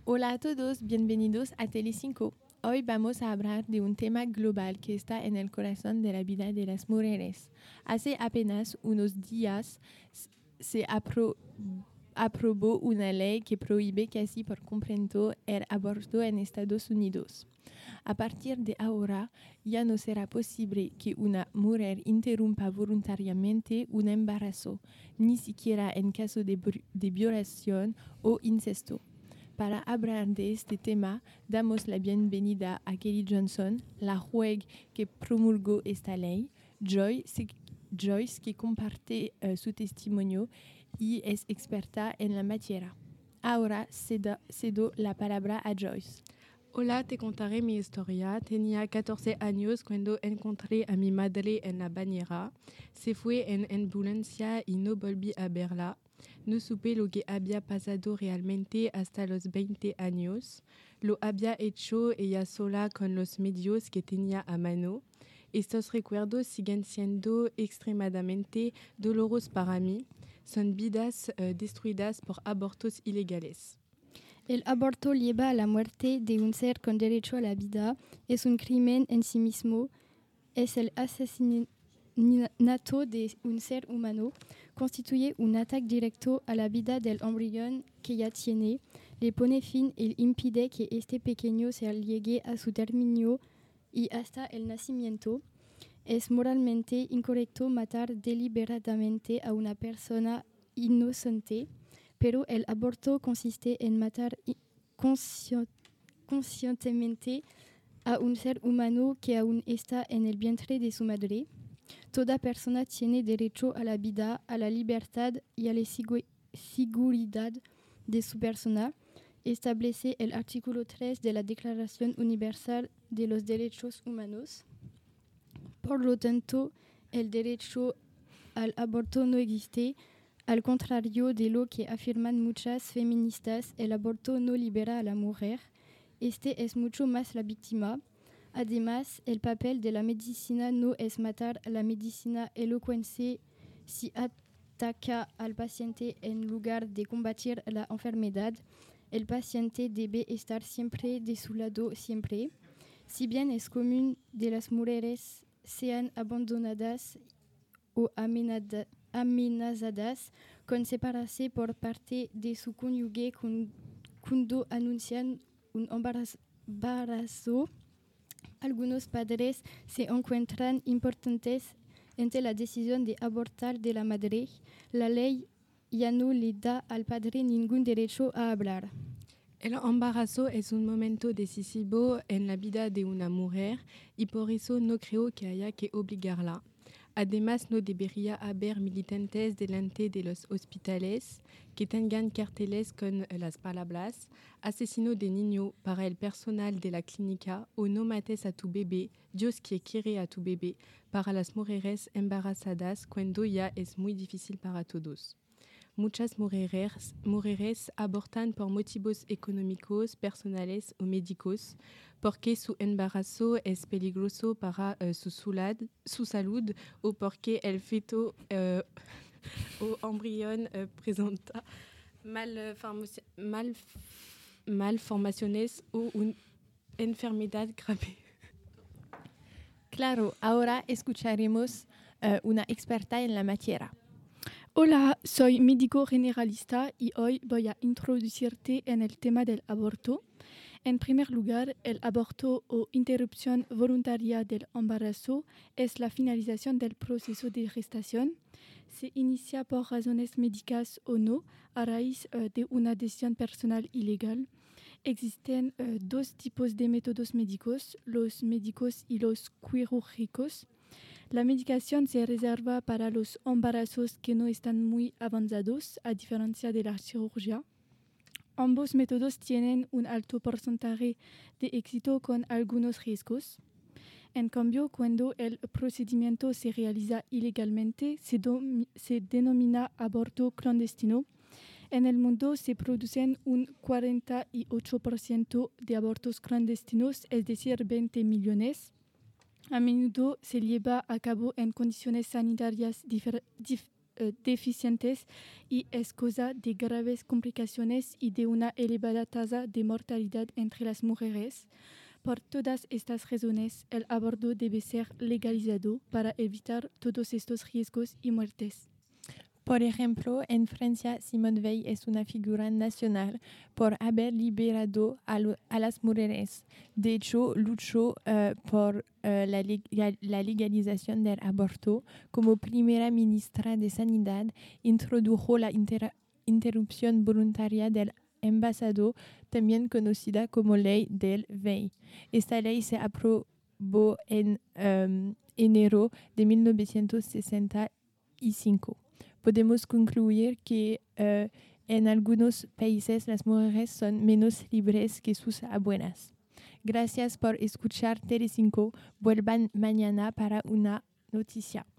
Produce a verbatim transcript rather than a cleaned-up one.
Hola a todos, bienvenidos a Telecinco. Hoy vamos a hablar de un tema global que está en el corazón de la vida de las mujeres. Hace apenas unos días se apro- aprobó una ley que prohíbe casi por completo el aborto en Estados Unidos. A partir de ahora, ya no será posible que una mujer interrumpa voluntariamente un embarazo, ni siquiera en caso de, de violación o incesto. Para hablar de este tema, damos la bienvenida a Kelly Johnson, la juez que promulgó esta ley, Joyce, Joyce que comparte uh, su testimonio y es experta en la materia. Ahora cedo, cedo la palabra a Joyce. Hola, te contaré mi historia. Tenía catorce años cuando encontré a mi madre en la bañera. Se fue en ambulancia y no volví a verla. No supe lo que había pasado realmente hasta los veinte años. Lo había hecho ella sola con los medios que tenía a mano. Estos recuerdos siguen siendo extremadamente dolorosos para mí. Son vidas uh, destruidas por abortos ilegales. El aborto lleva a la muerte de un ser con derecho a la vida. Es un crimen en sí mismo. Es el asesinato de un ser humano. Constituye un ataque directo a la vida del embrión que ya tiene. Le pone fin y impide que este pequeño ser llegue a su término y hasta el nacimiento. Es moralmente incorrecto matar deliberadamente a una persona inocente. Pero el aborto consiste en matar consci- conscientemente a un ser humano que aún está en el vientre de su madre. Toda persona tiene derecho a la vida, a la libertad y a la sigu- seguridad de su persona. Establece el artículo tres de la Declaración Universal de los Derechos Humanos. Por lo tanto, el derecho al aborto no existe. Al contrario de lo que afirman muchas feministas, el aborto no libera a la mujer. Este es mucho más la víctima. Además, el papel de la medicina no es matar. La medicina elocuente si ataca al paciente en lugar de combatir la enfermedad. El paciente debe estar siempre de su lado, siempre. Si bien es común que las mujeres sean abandonadas o amenazadas, amenazadas con separarse por parte de su cónyuge cuando anuncian un embarazo. Algunos padres se encuentran importantes ante la decisión de abortar de la madre. La ley ya no le da al padre ningún derecho a hablar. El embarazo es un momento decisivo en la vida de una mujer y por eso no creo que haya que obligarla. Además, no debería haber militantes delante de los hospitales que tengan carteles con las palabras asesino de niño para el personal de la clínica o no mates a tu bebé, Dios que quiere a tu bebé, para las mujeres embarazadas cuando ya es muy difícil para todos. Muchas mujeres, mujeres abortan por motivos económicos, personales o médicos, porque su embarazo es peligroso para uh, su, sulad, su salud o porque el feto uh, o embrión uh, presenta malformaciones mal, malformaciones o una enfermedad grave. Claro, ahora escucharemos uh, una experta en la materia. Hola, soy médico generalista y hoy voy a introducirte en el tema del aborto. En primer lugar, el aborto o interrupción voluntaria del embarazo es la finalización del proceso de gestación. Se inicia por razones médicas o no, a raíz uh, de una decisión personal ilegal. Existen uh, dos tipos de métodos médicos, los médicos y los quirúrgicos. La medicación se reserva para los embarazos que no están muy avanzados, a diferencia de la cirugía. Ambos métodos tienen un alto porcentaje de éxito con algunos riesgos. En cambio, cuando el procedimiento se realiza ilegalmente, se, do- se denomina aborto clandestino. En el mundo se producen un cuarenta y ocho por ciento de abortos clandestinos, es decir, veinte millones. A menudo se lleva a cabo en condiciones sanitarias difer- dif- uh, deficientes y es causa de graves complicaciones y de una elevada tasa de mortalidad entre las mujeres. Por todas estas razones, el aborto debe ser legalizado para evitar todos estos riesgos y muertes. Por ejemplo, en Francia, Simone Veil es una figura nacional por haber liberado a, lo, a las mujeres. De hecho, luchó uh, por uh, la, legal, la legalización del aborto. Como primera ministra de Sanidad, introdujo la inter, interrupción voluntaria del embarazo, también conocida como ley del Veil. Esta ley se aprobó en um, enero de mil novecientos sesenta y cinco. Podemos concluir que uh, en algunos países las mujeres son menos libres que sus abuelas. Gracias por escuchar Telecinco. Vuelvan mañana para una noticia.